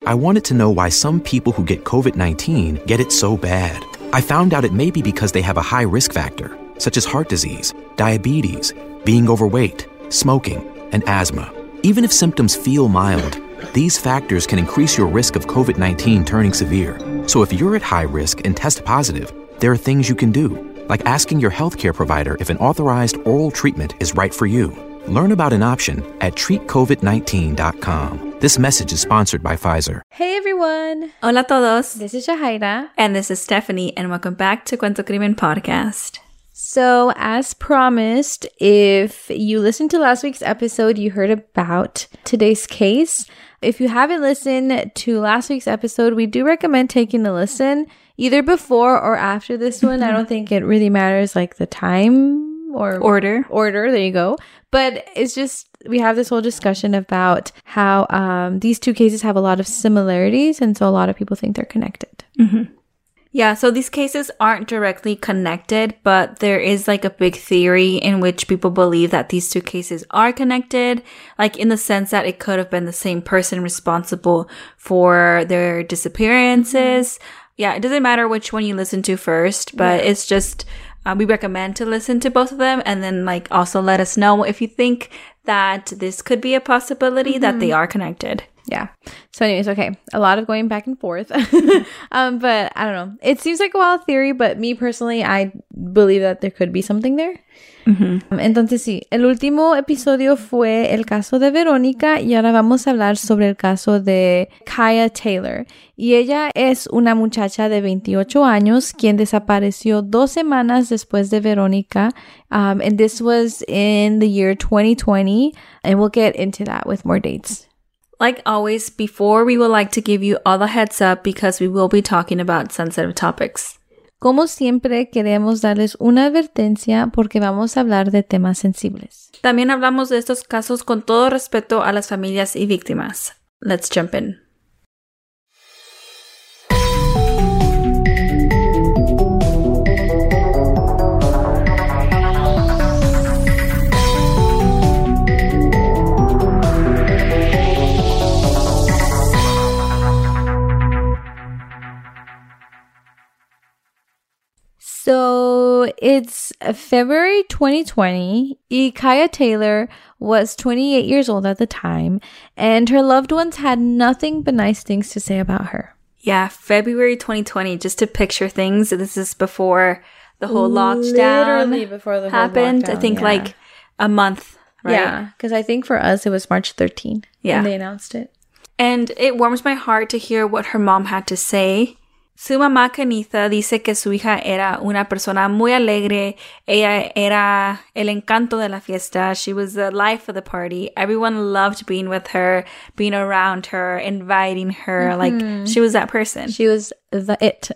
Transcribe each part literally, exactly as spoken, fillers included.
I wanted to know why some people who get covid nineteen get it so bad. I found out it may be because they have a high risk factor, such as heart disease, diabetes, being overweight, smoking, and asthma. Even if symptoms feel mild, these factors can increase your risk of covid nineteen turning severe. So if you're at high risk and test positive, there are things you can do, like asking your healthcare provider if an authorized oral treatment is right for you. Learn about an option at treat covid nineteen dot com. This message is sponsored by Pfizer. Hey everyone! Hola todos! This is Shahaira. And this is Stephanie, and welcome back to Cuento Crimen Podcast. So, as promised, if you listened to last week's episode, you heard about today's case. If you haven't listened to last week's episode, we do recommend taking a listen either before or after this one. I don't think it really matters, like the time or order. Order, there you go. But it's just, we have this whole discussion about how um, these two cases have a lot of similarities, and so a lot of people think they're connected. Mm-hmm. Yeah, so these cases aren't directly connected, but there is like a big theory in which people believe that these two cases are connected, like in the sense that it could have been the same person responsible for their disappearances. Yeah, it doesn't matter which one you listen to first, but yeah. It's just, uh, we recommend to listen to both of them, and then like also let us know if you think that this could be a possibility mm-hmm. that they are connected. Yeah. So anyways, okay. A lot of going back and forth. um, but I don't know. It seems like a wild theory, but me personally, I believe that there could be something there. Mm-hmm. Um, entonces sí, el último episodio fue el caso de Verónica y ahora vamos a hablar sobre el caso de Kaya Taylor. Y ella es una muchacha de veintiocho años quien desapareció dos semanas después de Verónica. Um, and this was in the year twenty twenty. And we'll get into that with more dates. Like always, before we would like to give you all the heads up because we will be talking about sensitive topics. Como siempre, queremos darles una advertencia porque vamos a hablar de temas sensibles. También hablamos de estos casos con todo respeto a las familias y víctimas. Let's jump in. So it's February twenty twenty. Y Kaya Taylor was twenty-eight years old at the time, and her loved ones had nothing but nice things to say about her. Yeah, February twenty twenty, just to picture things. This is before the whole lockdown Literally before the happened. whole lockdown, I think yeah. like a month, right? Yeah, because I think for us it was March thirteenth yeah. when they announced it. And it warms my heart to hear what her mom had to say. Su mamá Kenitha dice que su hija era una persona muy alegre. Ella era el encanto de la fiesta. She was the life of the party. Everyone loved being with her, being around her, inviting her. Mm-hmm. Like, she was that person. She was the it.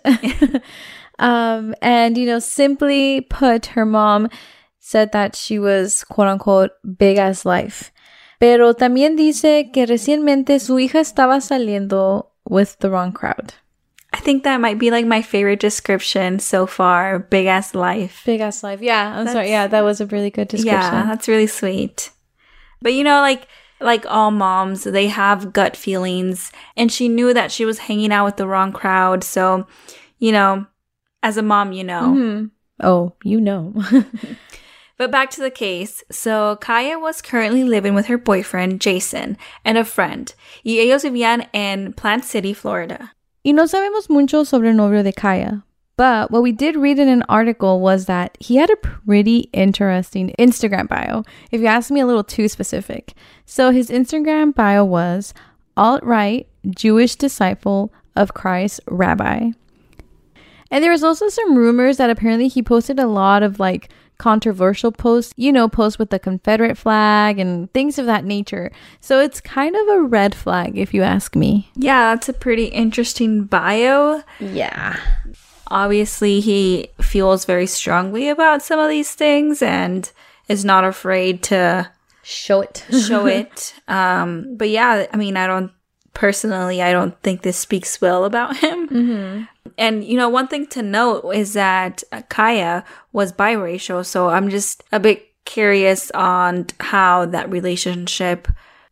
um, and, you know, simply put, her mom said that she was, quote unquote, big as life. Pero también dice que recientemente su hija estaba saliendo with the wrong crowd. I think that might be like my favorite description so far. Big ass life. Big ass life. Yeah, I'm that's, sorry. Yeah, that was a really good description. Yeah, that's really sweet. But you know, like like all moms, they have gut feelings. And she knew that she was hanging out with the wrong crowd. So, you know, as a mom, you know. Mm-hmm. Oh, you know. But back to the case. So, Kaya was currently living with her boyfriend, Jason, and a friend. Y ellos vivían en Plant City, Florida. Y no sabemos mucho sobre el novio de Kaya, but what we did read in an article was that he had a pretty interesting Instagram bio, if you ask me, a little too specific. So his Instagram bio was alt-right Jewish disciple of Christ rabbi. And there was also some rumors that apparently he posted a lot of like controversial posts, you know, posts with the Confederate flag and things of that nature. So it's kind of a red flag, if you ask me. Yeah, that's a pretty interesting bio. Yeah. Obviously, he feels very strongly about some of these things and is not afraid to show it. show it. Um, but yeah, I mean, I don't personally, I don't think this speaks well about him. Mm-hmm. And, you know, one thing to note is that Kaya was biracial. So I'm just a bit curious on how that relationship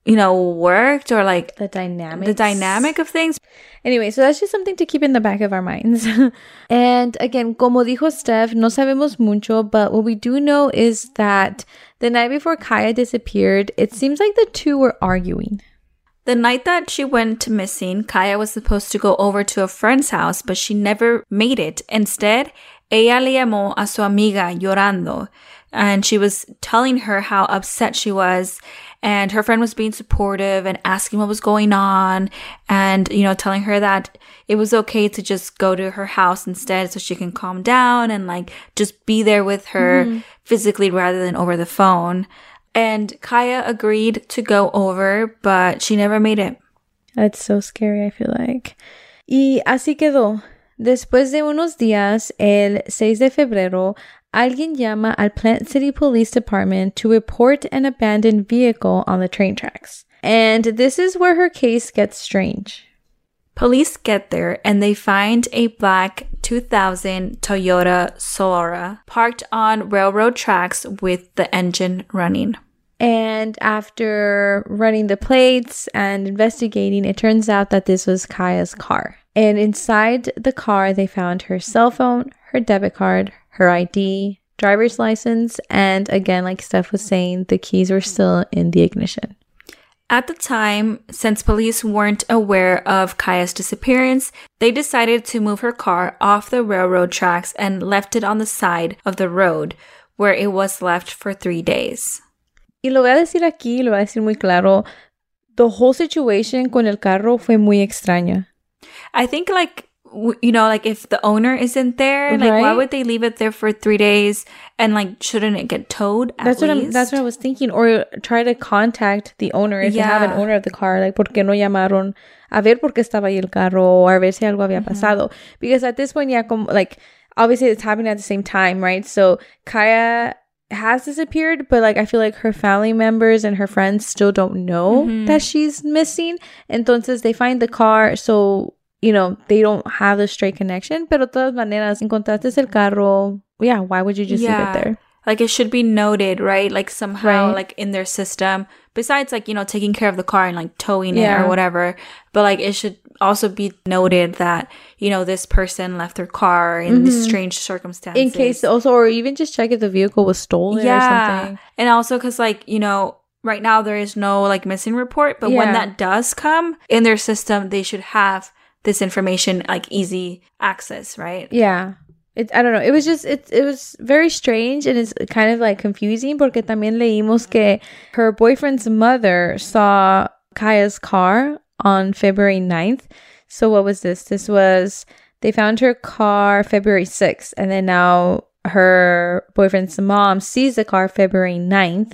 you know, worked or like the dynamic the dynamic of things. Anyway, so that's just something to keep in the back of our minds. And again, como dijo Steph, no sabemos mucho, but what we do know is that the night before Kaya disappeared, it seems like the two were arguing. The night that she went missing, Kaya was supposed to go over to a friend's house, but she never made it. Instead, ella le llamó a su amiga llorando, and she was telling her how upset she was, and her friend was being supportive and asking what was going on, and, you know, telling her that it was okay to just go to her house instead so she can calm down and, like, just be there with her mm-hmm. physically rather than over the phone. And Kaya agreed to go over, but she never made it. That's so scary, I feel like. Y así quedó. Después de unos días, el seis de febrero, alguien llama al Plant City Police Department to report an abandoned vehicle on the train tracks. And this is where her case gets strange. Police get there and they find a black two thousand Toyota Solara parked on railroad tracks with the engine running. And after running the plates and investigating, it turns out that this was Kaya's car. And inside the car, they found her cell phone, her debit card, her I D, driver's license, and again, like Steph was saying, the keys were still in the ignition. At the time, since police weren't aware of Kaya's disappearance, they decided to move her car off the railroad tracks and left it on the side of the road, where it was left for three days. Y lo voy a decir aquí, lo voy a decir muy claro, the whole situation con el carro fue muy extraña. I think, like, w- you know, like, if the owner isn't there, like, right? why would they leave it there for three days? And, like, shouldn't it get towed at that's least? What I'm, that's what I was thinking. Or try to contact the owner if yeah. they have an owner of the car. Like, ¿por qué no llamaron a ver por qué estaba ahí el carro? O a ver si algo había pasado? Mm-hmm. Because at this point, yeah, como, like, obviously it's happening at the same time, right? So, Kaya has disappeared, but like I feel like her family members and her friends still don't know mm-hmm. that she's missing. Entonces they find the car, so you know they don't have the straight connection. Pero de todas maneras, encontraste el carro. Yeah, why would you just yeah. leave it there? Like it should be noted, right? Like somehow, right. like in their system. Besides, like you know, taking care of the car and like towing yeah. it or whatever. But like it should also be noted that you know this person left their car in mm-hmm. these strange circumstances. In case also, or even just check if the vehicle was stolen yeah. or something. And also because like you know, right now there is no like missing report, but yeah. when that does come in their system, they should have this information like easy access, right? Yeah. It, I don't know. It was just, it, it was very strange and it's kind of like confusing porque también leímos que her boyfriend's mother saw Kaya's car on February ninth. So what was this? This was, they found her car February sixth and then now her boyfriend's mom sees the car February ninth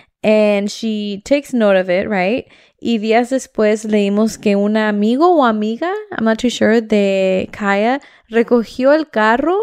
and she takes note of it, right? Y días después leímos que un amigo o amiga, I'm not too sure, de Kaya recogió el carro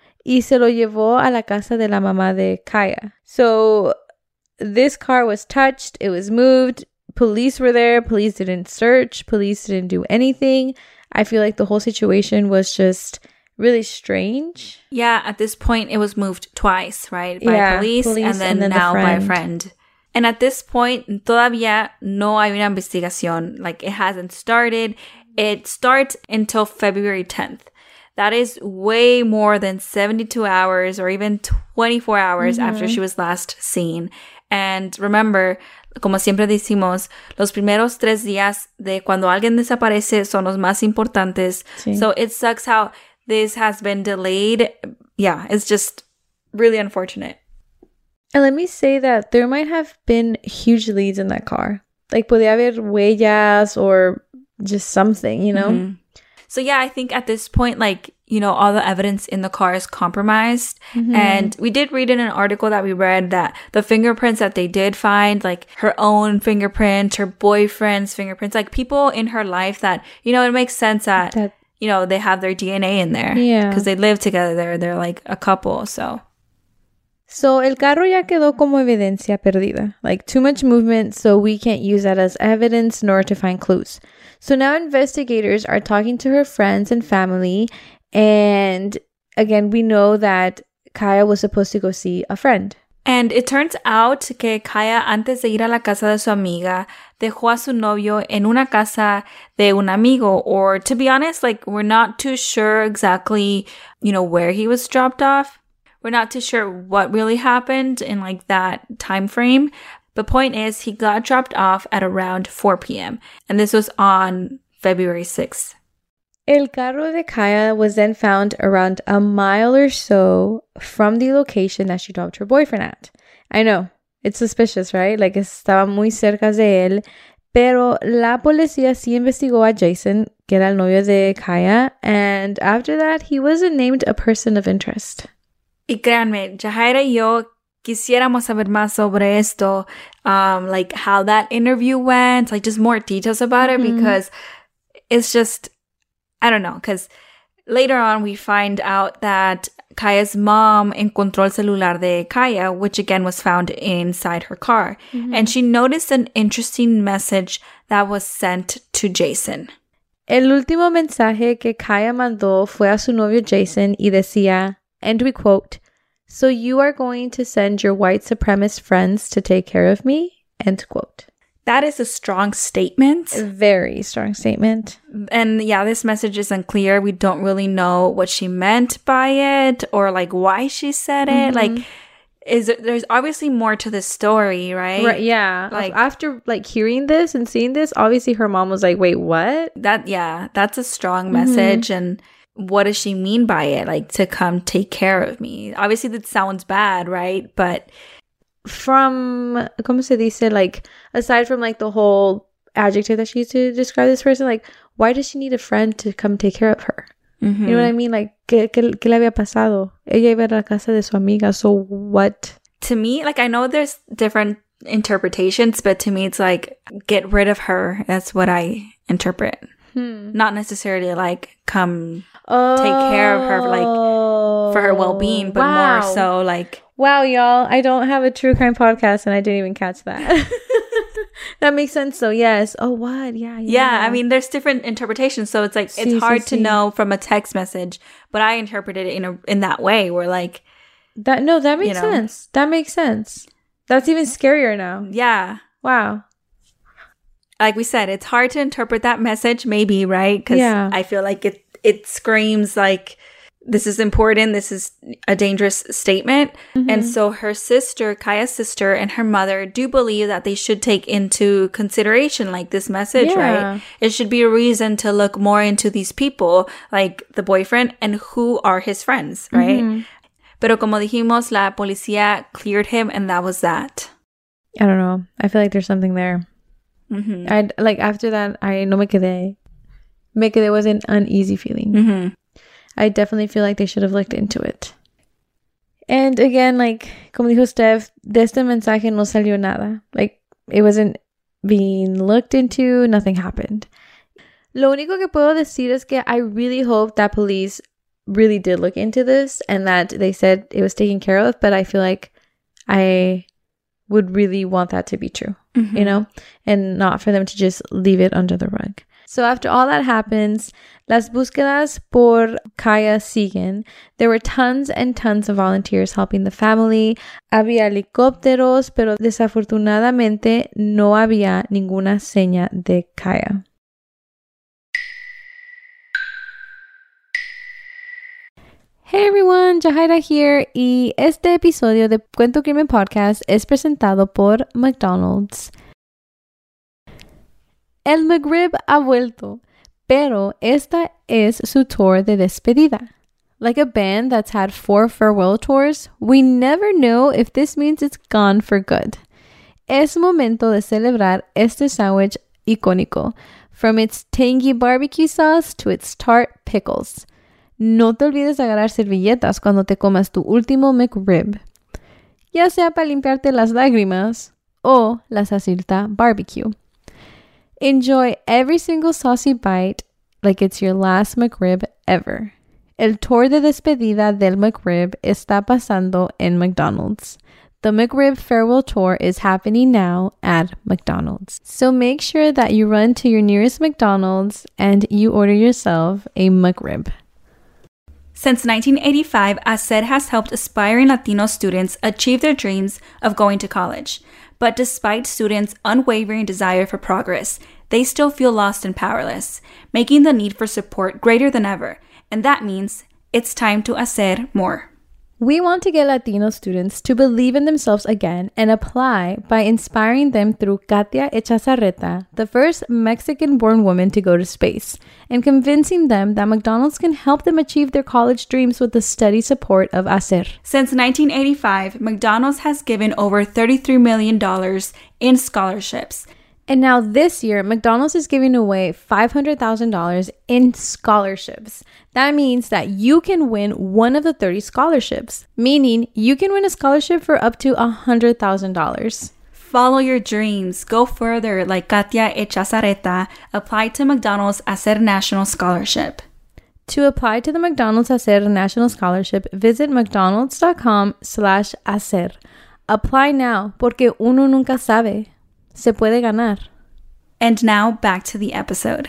y se lo llevó a la casa de la mamá de Kaya. So this car was touched, it was moved, police were there, police didn't search, police didn't do anything. I feel like the whole situation was just really strange. Yeah, at this point it was moved twice, right? By yeah, police, police and then, and then now the by a friend. And at this point, todavía no hay una investigación. Like it hasn't started. It starts until February tenth. That is way more than seventy-two hours or even twenty-four hours mm-hmm. after she was last seen. And remember, como siempre decimos, los primeros tres días de cuando alguien desaparece son los más importantes. Sí. So it sucks how this has been delayed. Yeah, it's just really unfortunate. And let me say that there might have been huge leads in that car. Like, podía haber huellas or just something, you know? Mm-hmm. So yeah, I think at this point, like, you know, all the evidence in the car is compromised. Mm-hmm. And we did read in an article that we read that the fingerprints that they did find, like her own fingerprint, her boyfriend's fingerprints, like people in her life that, you know, it makes sense that, that you know, they have their D N A in there. Yeah. Because they live together. They're, they're like a couple, so... So, el carro ya quedó como evidencia perdida. Like, too much movement, so we can't use that as evidence nor to find clues. So now investigators are talking to her friends and family. And again, we know that Kaya was supposed to go see a friend. And it turns out que Kaya, antes de ir a la casa de su amiga, dejó a su novio en una casa de un amigo. Or to be honest, like, we're not too sure exactly, you know, where he was dropped off. We're not too sure what really happened in like that time frame. The point is, he got dropped off at around four p.m. And this was on February sixth. El carro de Kaya was then found around a mile or so from the location that she dropped her boyfriend at. I know, it's suspicious, right? Like, estaba muy cerca de él. Pero la policía sí investigó a Jason, que era el novio de Kaya. And after that, he wasn't named a person of interest. Y créanme, Jahaira y yo quisiéramos saber más sobre esto. Um, like, how that interview went. Like, just more details about it. Mm-hmm. Because it's just... I don't know, because later on we find out that Kaya's mom encontró el celular de Kaya, which again was found inside her car. Mm-hmm. And she noticed an interesting message that was sent to Jason. El último mensaje que Kaya mandó fue a su novio Jason y decía, and we quote, "So you are going to send your white supremacist friends to take care of me?" End quote. That is a strong statement. A very strong statement. And yeah, this message is unclear. We don't really know what she meant by it or like why she said it. Mm-hmm. Like, is there's obviously more to the story, right? Right. Yeah. Like, after like hearing this and seeing this, obviously her mom was like, "Wait, what?" That yeah, that's a strong message. Mm-hmm. And what does she mean by it? Like, to come take care of me. Obviously, that sounds bad, right? But from, ¿cómo se dice? Like, aside from like the whole adjective that she used to describe this person, like, why does she need a friend to come take care of her? Mm-hmm. You know what I mean? Like, ¿qué, qué, qué le había pasado? Ella iba a la casa de su amiga, so what? To me, like, I know there's different interpretations, but to me, it's like, get rid of her. That's what I interpret. Hmm. Not necessarily like, come oh, take care of her, like, for her well-being, but wow. more so like... Wow, y'all, I don't have a true crime podcast and I didn't even catch that. That makes sense, though. Yes. Oh, what? Yeah, yeah. Yeah, I mean, there's different interpretations, so it's like, sí, it's hard sí, to sí. know from a text message, but I interpreted it in a in that way, where like... that. No, that makes you know, sense. That makes sense. That's even scarier now. Yeah. Wow. Like we said, it's hard to interpret that message, maybe, right? Because yeah. I feel like it it screams like, this is important, this is a dangerous statement. Mm-hmm. And so her sister, Kaya's sister, and her mother do believe that they should take into consideration like this message, yeah. right? It should be a reason to look more into these people, like the boyfriend, and who are his friends, right? Mm-hmm. Pero como dijimos, la policía cleared him, and that was that. I don't know. I feel like there's something there. Mm-hmm. I'd like after that, I no me quedé. Me quedé was an uneasy feeling. Mm-hmm. I definitely feel like they should have looked into it. And again, like, como dijo Steph, de este mensaje no salió nada. Like, it wasn't being looked into, nothing happened. Lo único que puedo decir es que I really hope that police really did look into this and that they said it was taken care of, but I feel like I would really want that to be true, mm-hmm. you know, and not for them to just leave it under the rug. So after all that happens, las búsquedas por Kaya siguen. There were tons and tons of volunteers helping the family. Había helicópteros, pero desafortunadamente no había ninguna seña de Kaya. Hey everyone, Jahaira here, y este episodio de Cuento Crimen Podcast es presentado por McDonald's. El McRib ha vuelto, pero esta es su tour de despedida. Like a band that's had four farewell tours, we never know if this means it's gone for good. Es momento de celebrar este sándwich icónico, from its tangy barbecue sauce to its tart pickles. No te olvides de agarrar servilletas cuando te comas tu último McRib, ya sea para limpiarte las lágrimas o la salsita barbecue. Enjoy every single saucy bite like it's your last McRib ever. El tour de despedida del McRib está pasando en McDonald's. The McRib farewell tour is happening now at McDonald's. So make sure that you run to your nearest McDonald's and you order yourself a McRib. Since nineteen eighty-five, A C E R has helped aspiring Latino students achieve their dreams of going to college. But despite students' unwavering desire for progress, they still feel lost and powerless, making the need for support greater than ever. And that means it's time to hacer more. We want to get Latino students to believe in themselves again and apply by inspiring them through Katia Echazarreta, the first Mexican-born woman to go to space, and convincing them that McDonald's can help them achieve their college dreams with the steady support of A C E R. Since nineteen eighty-five, McDonald's has given over thirty-three million dollars in scholarships. And now this year, McDonald's is giving away five hundred thousand dollars in scholarships. That means that you can win one of the thirty scholarships, meaning you can win a scholarship for up to one hundred thousand dollars. Follow your dreams. Go further like Katia Echazarreta. Apply to McDonald's A C E R National Scholarship. To apply to the McDonald's A C E R National Scholarship, visit mcdonalds.com slash hacer. Apply now, porque uno nunca sabe. Se puede ganar. And now back to the episode.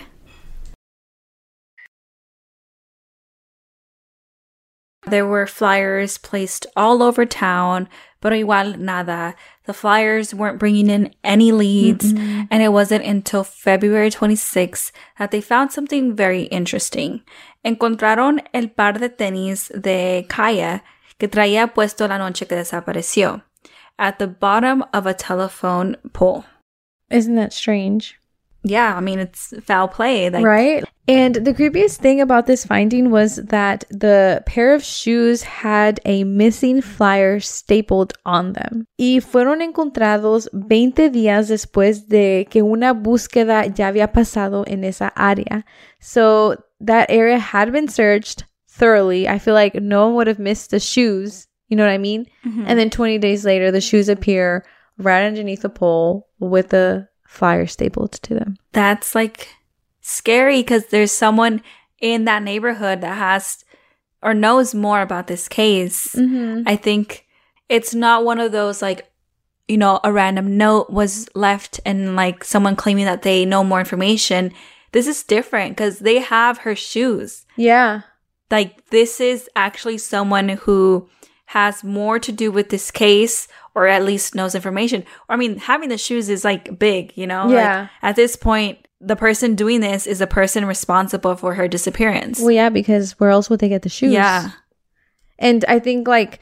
There were flyers placed all over town, pero igual nada. The flyers weren't bringing in any leads, mm-hmm. and it wasn't until February twenty-sixth that they found something very interesting. Encontraron el par de tenis de Kaya que traía puesto la noche que desapareció at the bottom of a telephone pole. Isn't that strange? Yeah, I mean, it's foul play. Like, right? And the creepiest thing about this finding was that the pair of shoes had a missing flyer stapled on them. Y fueron encontrados veinte días después de que una búsqueda ya había pasado en esa área. So that area had been searched thoroughly. I feel like no one would have missed the shoes. You know what I mean? Mm-hmm. And then twenty days later, the shoes appear right underneath the pole with the flyer stapled to them. That's like scary because there's someone in that neighborhood that has or knows more about this case. Mm-hmm. I think it's not one of those like, you know, a random note was left and like someone claiming that they know more information. This is different because they have her shoes. Yeah. Like this is actually someone who has more to do with this case or at least knows information. Or I mean, having the shoes is like big, you know? Yeah. Like, at this point, the person doing this is the person responsible for her disappearance. Well, yeah, because where else would they get the shoes? Yeah. And I think like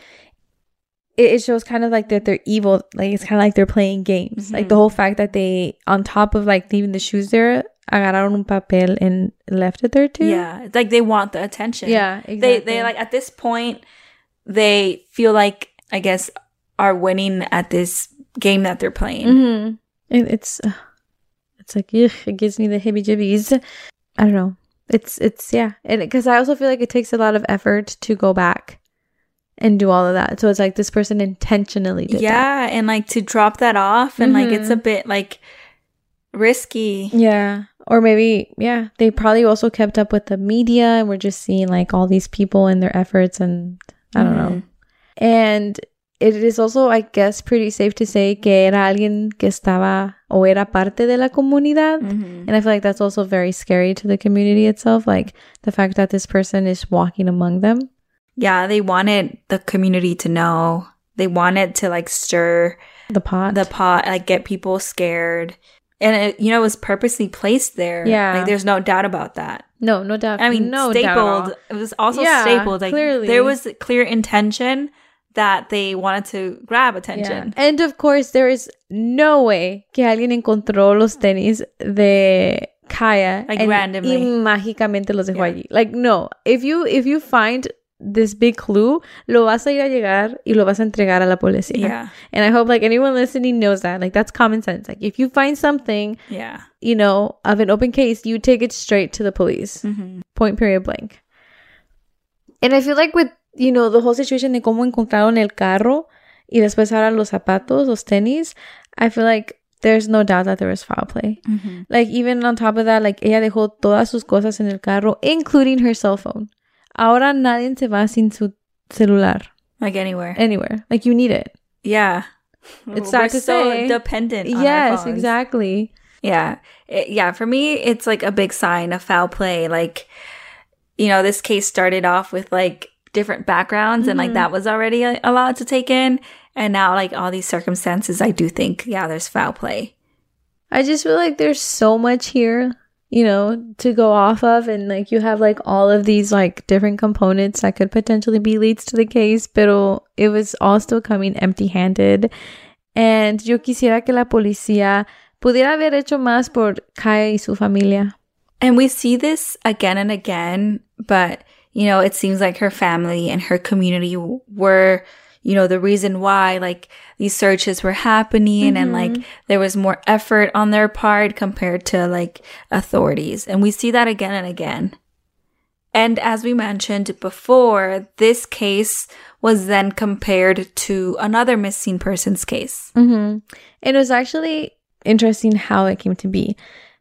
it, it shows kind of like that they're evil. Like it's kind of like they're playing games. Mm-hmm. Like the whole fact that they, on top of like leaving the shoes there, agarraron un papel and left it there too. Yeah. It's like they want the attention. Yeah, exactly. They, they like at this point, they feel like, I guess, are winning at this game that they're playing. Mm-hmm. It, it's uh, it's like, ugh, it gives me the heebie-jeebies. I don't know. It's, it's yeah. Because I also feel like it takes a lot of effort to go back and do all of that. So it's like this person intentionally did yeah, that. Yeah, and like to drop that off and mm-hmm. like it's a bit like risky. Yeah. Or maybe, yeah, they probably also kept up with the media and we're just seeing like all these people and their efforts and I don't mm-hmm. know. And it is also, I guess, pretty safe to say que era alguien que estaba o era parte de la comunidad. Mm-hmm. And I feel like that's also very scary to the community itself. Like the fact that this person is walking among them. Yeah, they wanted the community to know. They wanted to like stir the pot. The pot, like get people scared. And it, you know, it was purposely placed there. Yeah. Like there's no doubt about that. No, no doubt. I mean, no stapled. Doubt it was also yeah, stapled. Like clearly. There was clear intention that they wanted to grab attention. Yeah. And of course, there is no way que alguien encontró los tenis de Kaya like and randomly y mágicamente los dejó yeah. allí. Like no, if you if you find this big clue, lo vas a ir a llegar y lo vas a entregar a la policía. Yeah. And I hope like anyone listening knows that. Like that's common sense. Like if you find something, yeah, you know, of an open case, you take it straight to the police. Mm-hmm. Point period blank. And I feel like with, you know, the whole situation de cómo encontraron el carro y después ahora los zapatos, los tenis, I feel like there's no doubt that there was foul play. Mm-hmm. Like even on top of that, like ella dejó todas sus cosas en el carro, including her cell phone. Ahora nadie se va sin su celular. Like anywhere. Anywhere. Like you need it. Yeah. It's sad We're to so say. dependent on yes, our phones. Exactly. Yeah. It, yeah. For me, it's like a big sign of foul play. Like, you know, this case started off with like different backgrounds mm-hmm. and like that was already a- allowed to take in. And now like all these circumstances, I do think, yeah, there's foul play. I just feel like there's so much here, you know, to go off of. And like you have like all of these like different components that could potentially be leads to the case. Pero it was all still coming empty-handed. And yo quisiera que la policía pudiera haber hecho más por Kaya y su familia. And we see this again and again, but, you know, it seems like her family and her community were, you know, the reason why, like, these searches were happening mm-hmm. and, like, there was more effort on their part compared to, like, authorities. And we see that again and again. And as we mentioned before, this case was then compared to another missing persons case. Mm-hmm. It was actually interesting how it came to be.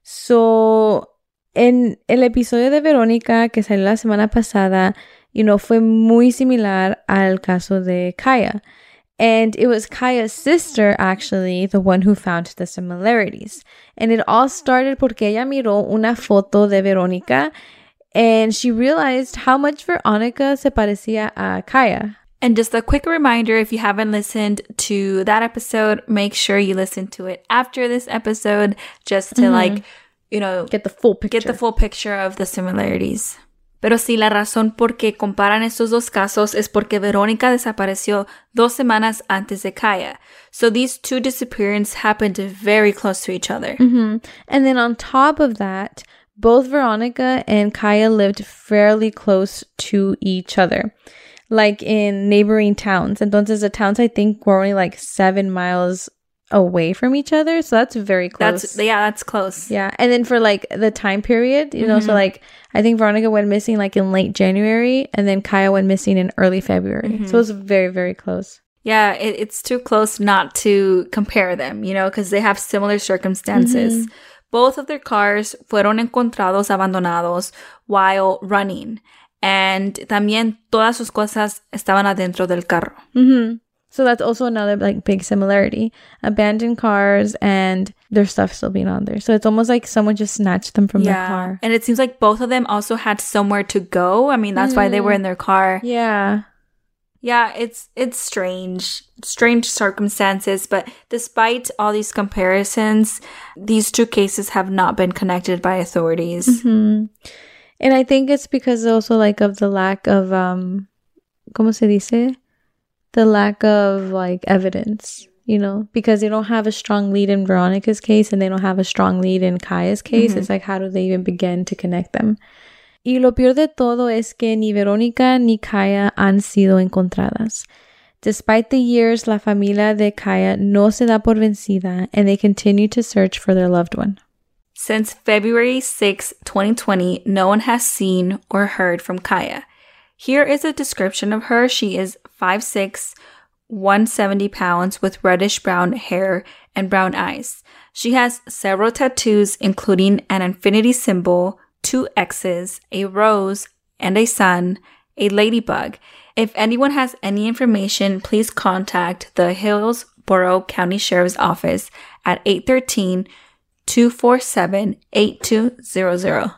So, en el episodio de Verónica que salió la semana pasada, you know, fue muy similar al caso de Kaya. And it was Kaya's sister, actually, the one who found the similarities. And it all started porque ella miró una foto de Verónica and she realized how much Verónica se parecía a Kaya. And just a quick reminder, if you haven't listened to that episode, make sure you listen to it after this episode just to, mm-hmm. like, you know, get the full picture. Get the full picture of the similarities. Pero sí, la razón por qué comparan estos dos casos es porque Verónica desapareció dos semanas antes de Kaya. So these two disappearances happened very close to each other. Mm-hmm. And then on top of that, both Verónica and Kaya lived fairly close to each other, like in neighboring towns. Entonces the towns, I think, were only like seven miles away from each other, so that's very close. That's yeah, that's close. Yeah, and then for like the time period, you mm-hmm. know, so like I think Veronica went missing like in late January, and then Kaya went missing in early February. Mm-hmm. So it was very, very close. Yeah, it, it's too close not to compare them, you know, because they have similar circumstances. Mm-hmm. Both of their cars fueron encontrados abandonados while running, and también todas sus cosas estaban adentro del carro. Mm-hmm. So that's also another like big similarity. Abandoned cars and their stuff still being on there. So it's almost like someone just snatched them from yeah. their car. And it seems like both of them also had somewhere to go. I mean, that's mm. why they were in their car. Yeah. Yeah, it's it's strange. Strange circumstances. But despite all these comparisons, these two cases have not been connected by authorities. Mm-hmm. And I think it's because also like of the lack of, um, ¿cómo se dice? The lack of like evidence, you know, because they don't have a strong lead in Veronica's case and they don't have a strong lead in Kaya's case. Mm-hmm. It's like, how do they even begin to connect them? Y lo peor de todo es que ni Verónica ni Kaya han sido encontradas. Despite the years, la familia de Kaya no se da por vencida and they continue to search for their loved one. Since February sixth, twenty twenty, no one has seen or heard from Kaya. Here is a description of her. She is five foot six, one hundred seventy pounds with reddish-brown hair and brown eyes. She has several tattoos, including an infinity symbol, two X's, a rose, and a sun, a ladybug. If anyone has any information, please contact the Hillsborough County Sheriff's Office at eight one three, two four seven, eight two zero zero.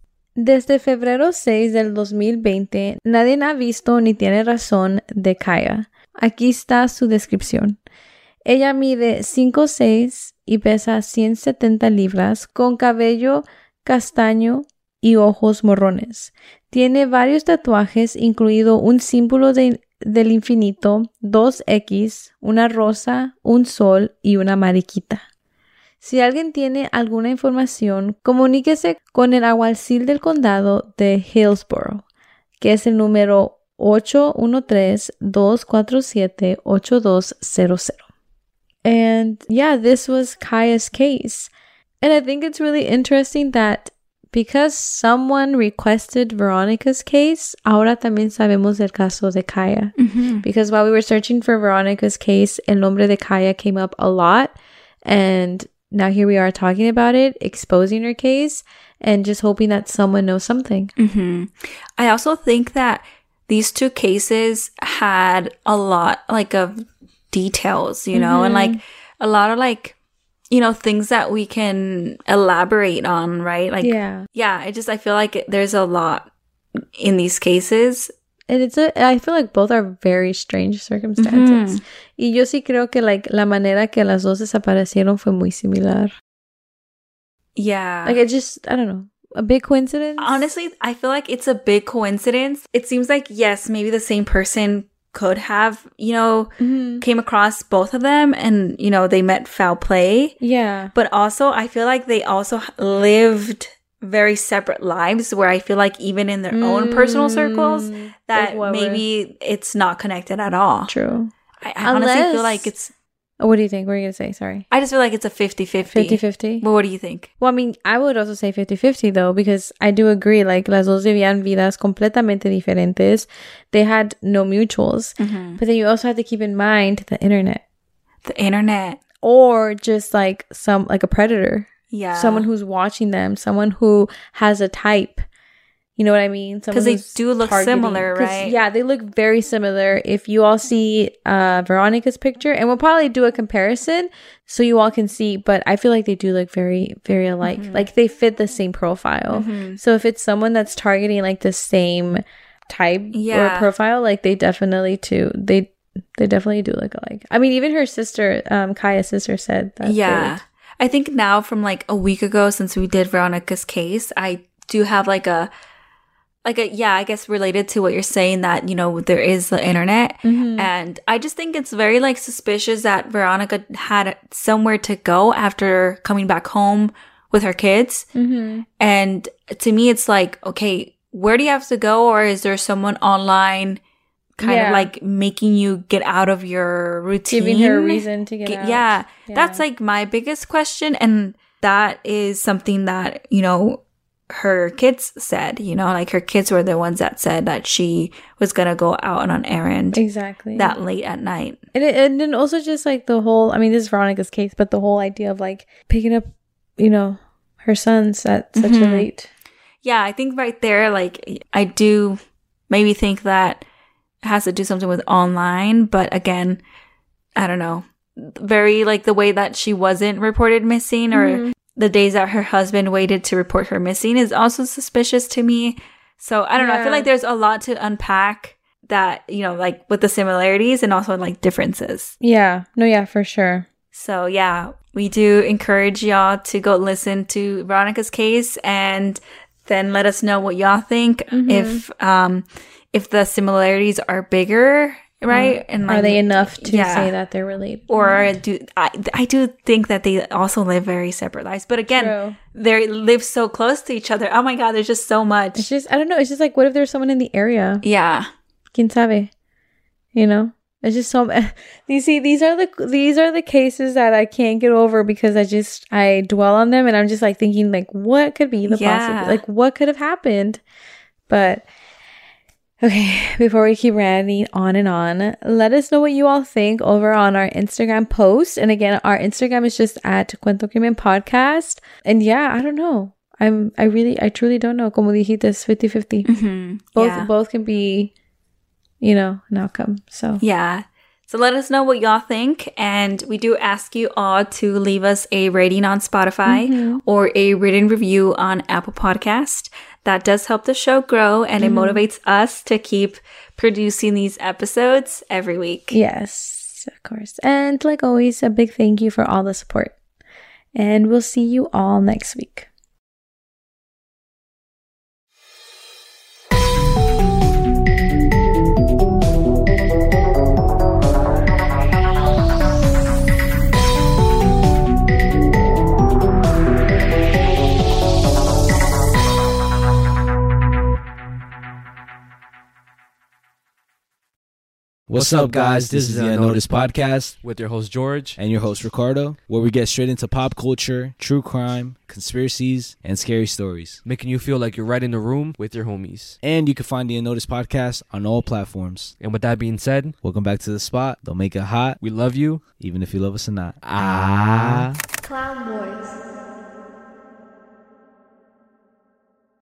Desde febrero seis del dos mil veinte, nadie ha visto ni tiene razón de Kaya. Aquí está su descripción. Ella mide cinco seis y pesa ciento setenta libras, con cabello castaño y ojos marrones. Tiene varios tatuajes, incluido un símbolo de, del infinito, dos X, una rosa, un sol y una mariquita. Si alguien tiene alguna información, comuníquese con el alguacil del condado de Hillsborough, que es el número ocho uno tres, dos cuatro siete, ocho dos cero cero. And yeah, this was Kaya's case. And I think it's really interesting that because someone requested Veronica's case, ahora también sabemos del caso de Kaya. Mm-hmm. Because while we were searching for Veronica's case, el nombre de Kaya came up a lot. And now here we are talking about it, exposing her case, and just hoping that someone knows something. Mm-hmm. I also think that these two cases had a lot, like, of details, you know, mm-hmm. and, like, a lot of, like, you know, things that we can elaborate on, right? Like, yeah. Yeah, I just, I feel like it, there's a lot in these cases. And it's a, I feel like both are very strange circumstances. Mm-hmm. Y yo sí creo que like la manera que las dos desaparecieron fue muy similar. Yeah. Like it just, I don't know. A big coincidence? Honestly, I feel like it's a big coincidence. It seems like, yes, maybe the same person could have, you know, mm-hmm. came across both of them and, you know, they met foul play. Yeah. But also, I feel like they also lived very separate lives where I feel like even in their mm, own personal circles that like maybe it's not connected at all. True. I, I Unless, honestly feel like it's... Oh, what do you think? What are you going to say? Sorry. I just feel like it's a fifty-fifty. fifty-fifty? But what do you think? Well, I mean, I would also say fifty-fifty though, because I do agree, like, las dos vivían vidas completamente diferentes. They had no mutuals. Mm-hmm. But then you also have to keep in mind the internet. The internet. Or just like some, like a predator. Yeah. Someone who's watching them. Someone who has a type. You know what I mean? Because they do look targeting. Similar, right? Yeah, they look very similar. If you all see uh, Veronica's picture, and we'll probably do a comparison so you all can see, but I feel like they do look very, very alike. Mm-hmm. Like they fit the same profile. Mm-hmm. So if it's someone that's targeting like the same type yeah. or profile, like they definitely too, they they definitely do look alike. I mean, even her sister, um, Kaya's sister said that. Yeah. They, I think now from like a week ago since we did Veronica's case, I do have like a, like a, yeah, I guess related to what you're saying that, you know, there is the internet. Mm-hmm. And I just think it's very like suspicious that Veronica had somewhere to go after coming back home with her kids. Mm-hmm. And to me, it's like, okay, where do you have to go? Or is there someone online kind yeah. of like making you get out of your routine? Giving her a reason to get, get out. Yeah, yeah. That's like my biggest question. And that is something that, you know, her kids said, you know, like her kids were the ones that said that she was going to go out on an errand. Exactly. That late at night. And, it, and then also just like the whole, I mean, this is Veronica's case, but the whole idea of like picking up, you know, her sons at such mm-hmm. a late. Yeah, I think right there, like I do maybe think that it has to do something with online, but again, I don't know. Very like the way that she wasn't reported missing or mm-hmm. the days that her husband waited to report her missing is also suspicious to me. So I don't yeah. know. I feel like there's a lot to unpack that, you know, like with the similarities and also like differences. Yeah. No, yeah, for sure. So yeah, we do encourage y'all to go listen to Veronica's case and then let us know what y'all think. Mm-hmm. If, um, if the similarities are bigger, right? And like, are they enough to yeah. say that they're related? Or do I, I do think that they also live very separate lives. But again, True. They live so close to each other. Oh my God, there's just so much. It's just, I don't know. It's just like, what if there's someone in the area? Yeah. Quien sabe? You know? It's just so, you see, these are the, these are the cases that I can't get over because I just, I dwell on them and I'm just like thinking like, what could be the yeah. possibility? Like, what could have happened? But okay, before we keep ranting on and on, let us know what you all think over on our Instagram post. And again, our Instagram is just at Cuento Crimen Podcast. And yeah, I don't know. I'm, I really, I truly don't know. Como dijiste, it's fifty-fifty. Mm-hmm. Both, yeah. both can be, you know, an outcome. So yeah. So let us know what y'all think. And we do ask you all to leave us a rating on Spotify mm-hmm. or a written review on Apple Podcast. That does help the show grow and mm-hmm. it motivates us to keep producing these episodes every week. Yes, of course. And like always, a big thank you for all the support. And we'll see you all next week. What's up, guys? This is the Unnoticed Podcast with your host, George. And your host, Ricardo, where we get straight into pop culture, true crime, conspiracies, and scary stories. Making you feel like you're right in the room with your homies. And you can find the Unnoticed Podcast on all platforms. And with that being said, welcome back to the spot. Don't make it hot. We love you. Even if you love us or not. Ah. Clown Boys.